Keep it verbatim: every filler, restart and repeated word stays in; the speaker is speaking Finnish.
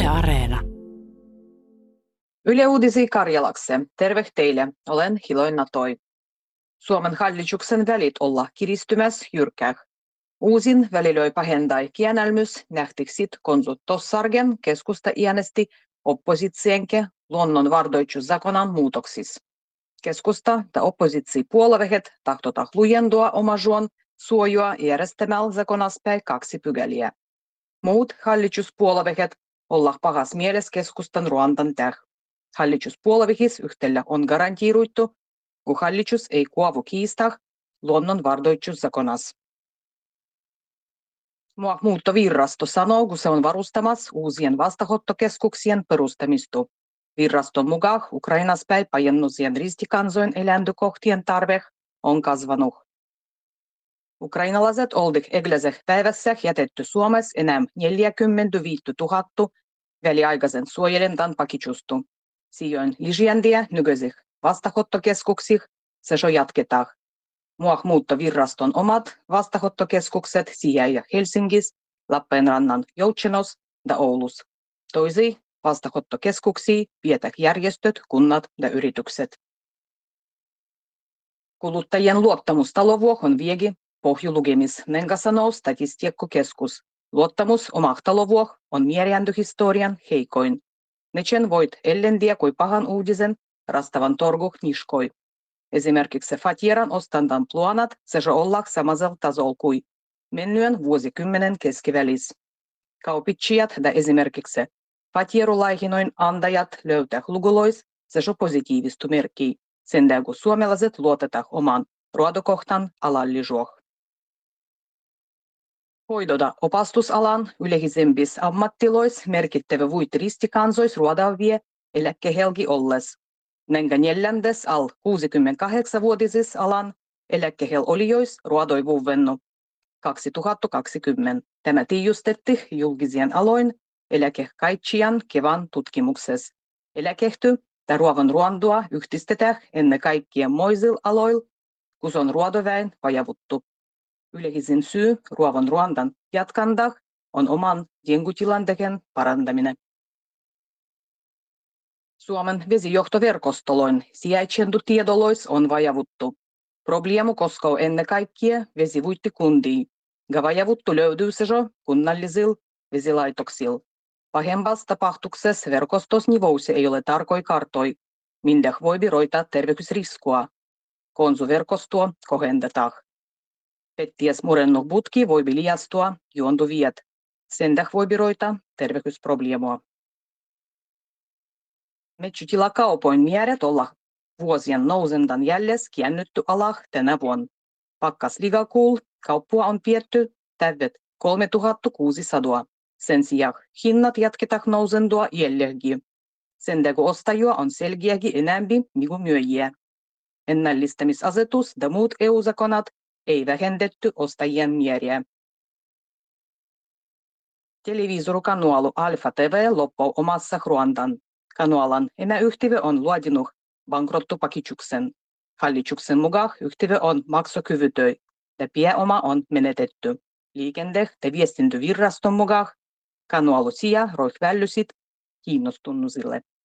Yle Areena. Yle Uutisia Karjalakse. Terve teille. Olen Hiloin Natoi. Suomen hallituksen välit olla kiristymässä jyrkää. Uusin välilöi pahendai kienälmys nähtiksit konsut tossargen keskusta iänesti oppositsienke luonnon vardoitsuszakonan muutoksis. Keskusta ja oppositsipuolueet tahtota lujendua omajuon suojua järjestämällä zakonaspäin kaksi pykäliä. Muut hallituspuolueet olla pahas mieles keskustan Ruandan täh. Hallituspuolueissa yhtälä on garantiiruittu, kun hallitus ei kuovu kiistah luonnon vardoitsuszakonas. Muuttovirrasto sanoo, kun se on varustamassa uusien vastaanottokeskuksien perustamista. Virraston mukaan Ukrainaspäin pajennusien ristikansojen eläintökohtien tarve on kasvanut. Ukrainalaiset oldik egläseh päivässä jätetty Suomessa enää neljäkymmentäviisituhatta väliaikaisen suojelentan pakichustu. Sijoin lisääntiä nykyisih vastaanottokeskuksih se jo jatketaan. Muuttovirraston omat vastaanottokeskukset sijaitsee Helsingissä, Lappeenrannan Joutsenossa ja Oulussa. Toisia vastaanottokeskuksia pidetään järjestöt, kunnat ja yritykset. Kuluttajien luottamus talovuohon viegi pohjulukemis, nenkä sanoo Statistiikkakeskus. Luottamus omah talovuoh on mierjäntöhistorian heikoin. Nechen voit ellendiä kui pahan uudisen rastavan torguh niskoi. Esimerkiksi Fatieran ostandan pluanat se jo ollak samasel tasol kui mennyen vuosikymmenen keskivälis. Kaupitsijat ja esimerkiksi Fatierulaihinoin andajat löytää lugulois se jo positiivistu merkkiä, sen kun suomalaiset luotetaan oman ruodokohtan alallisuoh. Hoidoda opastusalan yleisempis ammattilois merkittävä vuit ristikansois ruodavie eläkkehelgi olles. Nenkä neljändes al kuusikymmentäkahdeksanvuotisis alan eläkkehel olijois ruodoi vuovennu kaksituhattakaksikymmentä. Tämä tiijustetti julkisien aloin eläkekaitsijan kevan tutkimuksessa. Eläkehty ja ruovan ruondua yhdistetään ennen kaikkea moisil aloil, kun on ruodoväen vajavuttu. Yleisin syy ruovan ruondan jatkandah on oman jengutilanteen parantaminen. Suomen vesijohtoverkostoloin sijaitsendu tiedolois on vajavuttu. Probleemu koskee ennen kaikkea vesivuittikuntia, ja vajavuttu löytyy se jo kunnallisilla vesilaitoksilla. Pahempas tapahtuksessa verkostosnivousi ei ole tarkoi kartoi, minne voi roita terveysriskua. Konsuverkostoa kohendetaan. Petties murennut putki voi liastua juontuviet. Sen täh voi roita terveysprobleemoa. Metsätilakaupoin määrät olla vuosien nousendan jälles kiännytty alah tänä vuonna. Pakkas ligakuul kauppua on pietty täydet kolmetuhattakuusisataa. Sen sijaan hinnat jatketaan nousendua jälläkin. Sen kun ostajua on selkeäkin enemmän kuin myyjiä. Ennallistamisasetus ja muut E U-zakonat ei vähennetty ostajien määriä. Televisorikanualu Alfa T V loppuu omassa Ruandan. Kanualan emäyhtiö on luodinut bankrottupakitsuksen. Hallituksen mukaan yhtiö on maksukyvytön ja pääoma on menetetty. Liikenne- ja viestintäviraston mukaan kanualu sija roih vällysit kiinnostunusille.